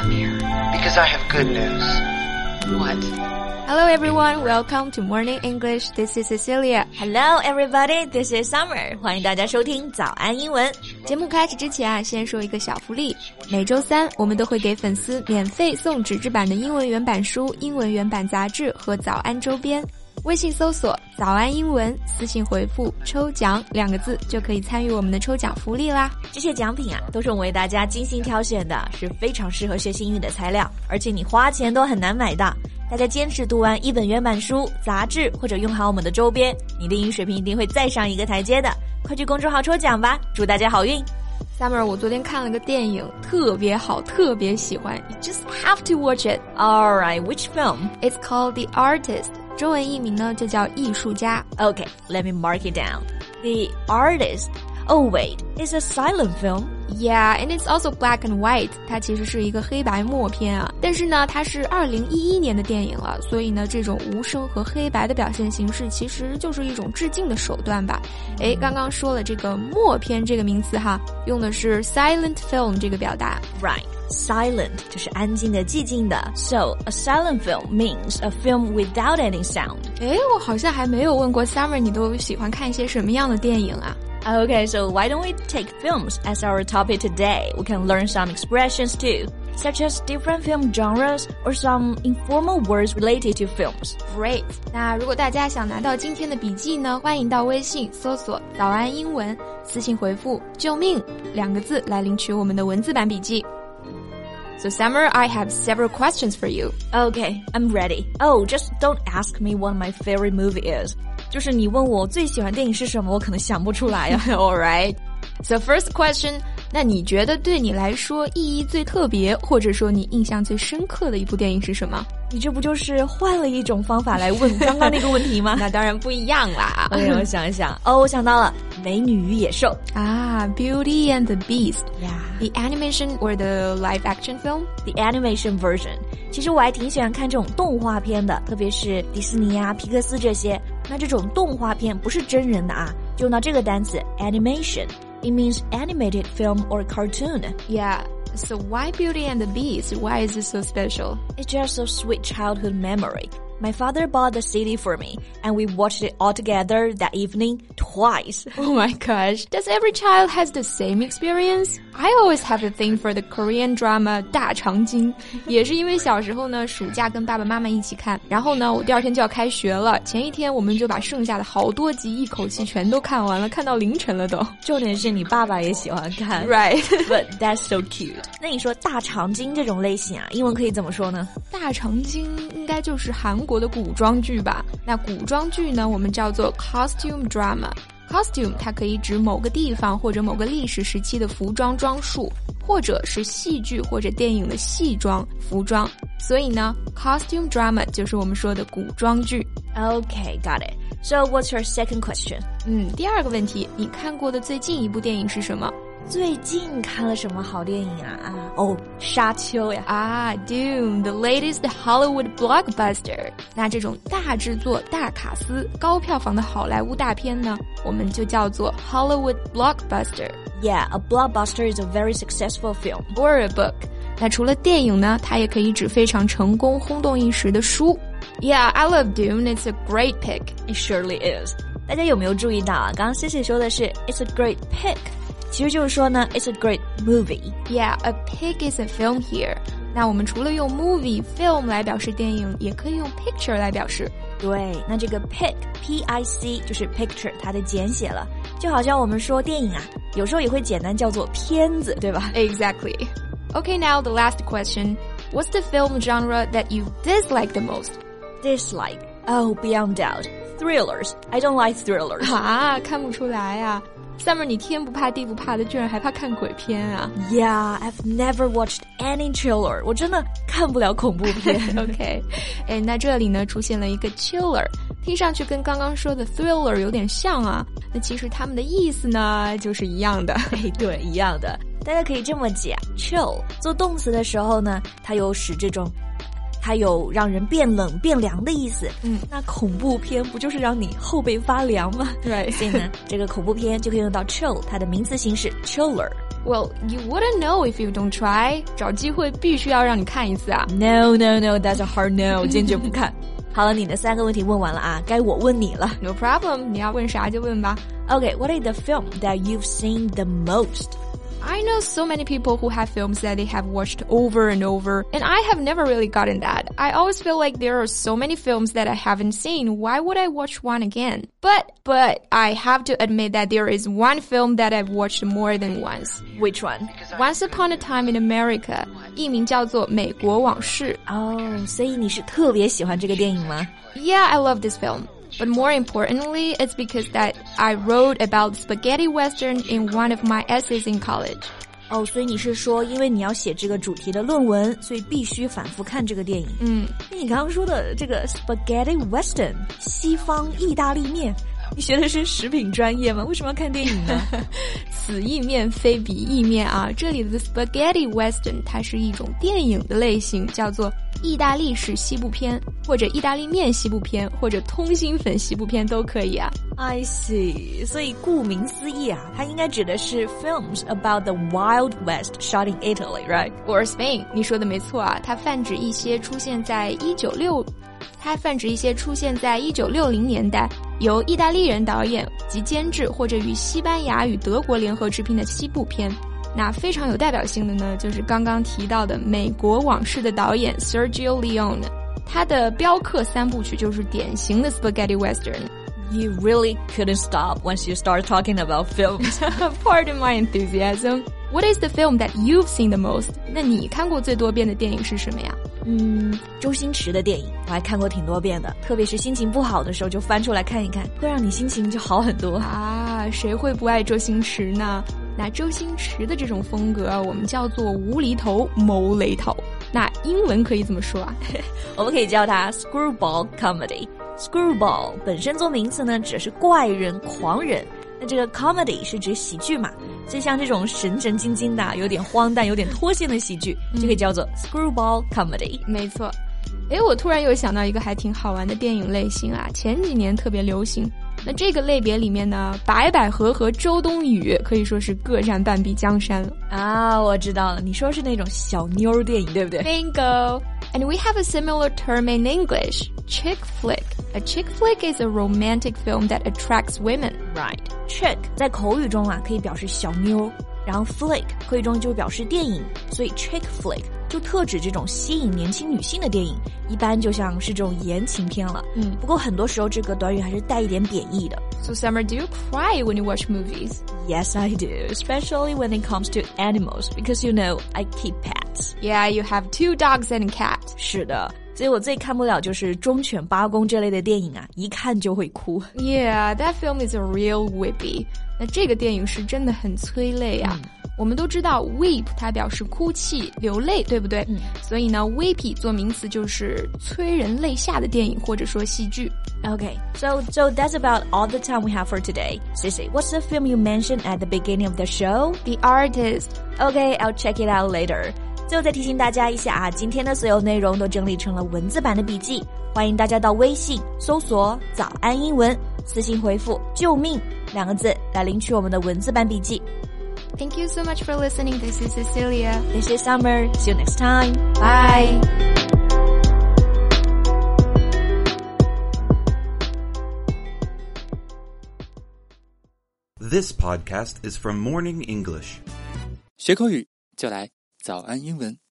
Come here, because I have good news. What? Hello everyone, welcome to Morning English. This is Cecilia. Hello everybody, this is Summer. 欢迎大家收听早安英文。 节目开始之前啊，先说一个小福利。每周三我们都会给粉丝免费送纸质版的英文原版书、英文原版杂志和早安周边。微信搜索早安英文，私信回复抽奖2个字就可以参与我们的抽奖福利啦。 这些奖品啊，都是我们为大家精心挑选的，是非常适合学习英语的材料，而且你花钱都很难买到。大家坚持读完一本原版书、杂志或者用好我们的周边，你的英语水平一定会再上一个台阶的。快去公众号抽奖吧，祝大家好运。 Summer， 我昨天看了个电影，特别好，特别喜欢。You just have to watch it. Alright, which film? It's called The Artist. 中文译名呢就叫艺术家。 Okay, let me mark it down. The Artist. Oh wait, it's a silent film. Yeah, and it's also black and white. 它其实是一个黑白默片啊，但是呢，它是2011年的电影了，所以呢，这种无声和黑白的表现形式其实就是一种致敬的手段吧。诶，刚刚说了这个默片这个名词哈，用的是 silent film 这个表达。 Right. Silent 就是安静的、寂静的。So, a silent film means a film without any sound. 诶，我好像还没有问过 Summer 你都喜欢看一些什么样的电影啊 ？Okay, so why don't we take films as our topic today? We can learn some expressions too, such as different film genres or some informal words related to films. Great. 那如果大家想拿到今天的笔记呢，欢迎到微信搜索早安英文，私信回复救命2个字来领取我们的文字版笔记。So Summer, I have several questions for you. Okay, I'm ready. Oh, just don't ask me what my favorite movie is. 就是你问我最喜欢电影是什么，我可能想不出来呀。 Alright. So first question, 那你觉得对你来说意义最特别，或者说你印象最深刻的一部电影是什么？ 你这不就是换了一种方法来问刚刚那个问题吗？ 那当然不一样啦。 OK, 我想一想。哦，我想到了，美女与野兽。 啊 Beauty and the Beast. Yeah. The animation or the live action film? The animation version. 其实我还挺喜欢看这种动画片的，特别是迪士尼啊、皮克斯这些。那这种动画片不是真人的啊，就用到这个单词 animation。It means animated film or cartoon. Yeah.So why Beauty and the Beast? Why is it so special? It's just a sweet childhood memory. My father bought the CD for me, and we watched it all together that evening twice. Oh my gosh. Does every child has the same experience? I always have a thing for the Korean drama 大长今。也是因为小时候呢，暑假跟爸爸妈妈一起看，然后呢，我第2天就要开学了，前一天我们就把剩下的好多集一口气全都看完了，看到凌晨了都。 重点是你爸爸也喜欢看。 Right. But that's so cute. 那你说大长今这种类型啊，英文可以怎么说呢？ 大长今应该就是韩国的古装剧吧。那古装剧呢，我们叫做 costume drama。Costume 它可以指某个地方或者某个历史时期的服装装束，或者是戏剧或者电影的戏装服装。所以呢 costume drama 就是我们说的古装剧。 Okay, got it. So what's your second question? 第2个问题，你看过的最近一部电影是什么？ 最近看了什么好电影啊？沙丘呀。 Dune, the latest Hollywood blockbuster. 那这种大制作、大卡司、高票房的好莱坞大片呢，我们就叫做 Hollywood blockbuster. Yeah, a blockbuster is a very successful film. Or a book. 那除了电影呢，它也可以指非常成功、轰动一时的书。Yeah, I love Dune. It's a great pick. It surely is. 大家有没有注意到啊？刚刚 Cici 说的是 It's a great pick.其实就是说呢 It's a great movie. Yeah, a pic is a film here. 那我们除了用 movie, film 来表示电影，也可以用 picture 来表示。 对，那这个 pic, P-I-C 就是 picture 它的简写了。就好像我们说电影啊，有时候也会简单叫做片子，对吧？ Exactly. Okay, now the last question. What's the film genre that you dislike the most? Dislike? Oh, beyond doubt. Thrillers. I don't like thrillers. 看不出来啊。Summer 你天不怕地不怕的，居然还怕看鬼片啊？ Yeah, I've never watched any thriller. 我真的看不了恐怖片。 OK， 那这里呢出现了一个 chiller， 听上去跟刚刚说的 thriller 有点像啊。那其实它们的意思呢就是一样的。 对，一样的。大家可以这么解 chill 做动词的时候呢，它有使这种它有让人变冷变凉的意思。那恐怖片不就是让你后背发凉吗？ 对， 所以呢，这个恐怖片就可以用到 chill， 它的名词形式 chiller。 Well, you wouldn't know if you don't try. 找机会必须要让你看一次啊。 No, that's a hard no. 坚决不看。好了，你的3个问题问完了啊，该我问你了。 No problem. 你要问啥就问吧。 Okay, what is the film that you've seen the most? I know so many people who have films that they have watched over and over, and I have never really gotten that. I always feel like there are so many films that I haven't seen. Why would I watch one again? But I have to admit that there is one film that I've watched more than once. Which one? Once Upon a Time in America. 译名叫做《美国往事》。 所以你是特别喜欢这个电影吗？ Yeah, I love this film.But more importantly, it's because that I wrote about spaghetti western in one of my essays in college. 所以你是说因为你要写这个主题的论文，所以必须反复看这个电影。那你刚刚说的这个 spaghetti western 西方意大利面，你学的是食品专业吗？为什么要看电影呢？ 此意面非彼意面啊，这里的 spaghetti western 它是一种电影的类型，叫做意大利式西部片，或者意大利面西部片，或者通心粉西部片都可以啊。 I see. 所以顾名思义啊，它应该指的是 films about the Wild West shot in Italy, right? Or Spain. 你说的没错啊，它泛指一些出现在1960年代由意大利人导演及监制或者与西班牙与德国联合制片的西部片。那非常有代表性的呢，就是刚刚提到的《美国往事》的导演 Sergio Leone， 他的镖客3部曲就是典型的 spaghetti western。You really couldn't stop once you start talking about films. Pardon my enthusiasm. What is the film that you've seen the most? 那你看过最多遍的电影是什么呀？ 周星驰的电影我还看过挺多遍的，特别是心情不好的时候就翻出来看一看，会让你心情就好很多啊。谁会不爱周星驰呢？那周星驰的这种风格我们叫做无厘头谋雷头，那英文可以怎么说啊？ 我们可以叫它 screwball comedy。Screwball 本身做名词呢，指的是怪人、狂人。那这个 comedy 是指喜剧嘛，所以像这种神神经经的、有点荒诞、有点脱线的喜剧，就可以叫做 screwball comedy。 没错。我突然又想到一个还挺好玩的电影类型啊，前几年特别流行。那这个类别里面呢，白百合和周冬雨可以说是各占半壁江山了啊！我知道了，你说是那种小妞电影，对不对 ？Bingo! And we have a similar term in English, chick flick. A chick flick is a romantic film that attracts women. Right. Chick 在口语中啊可以表示小妞，然后 flick 口语中就表示电影，所以 chick flick 就特指这种吸引年轻女性的电影，一般就像是这种言情片了。不过很多时候这个短语还是带一点贬义的。 So Summer, do you cry when you watch movies? Yes, I do, especially when it comes to animals, because you know, I keep pets. Yeah, you have 2 dogs and a cat. 是的，所以我最看不了就是忠犬八公这类的电影啊，一看就会哭。 Yeah, that film is a real whippy. 那这个电影是真的很催泪啊。我们都知道 weep 它表示哭泣流泪，对不对？所以呢 weepy 做名词就是催人泪下的电影或者说戏剧。 Okay, so that's about all the time we have for today. Sissy, what's the film you mentioned at the beginning of the show? The Artist. Okay, I'll check it out later. 最后再提醒大家一下啊，今天的所有内容都整理成了文字版的笔记，欢迎大家到微信搜索早安英文，私信回复救命2个字来领取我们的文字版笔记。 Thank you so much for listening. This is Cecilia. This is Summer. See you next time. Bye. This podcast is from Morning English. 学口语就来早安英文。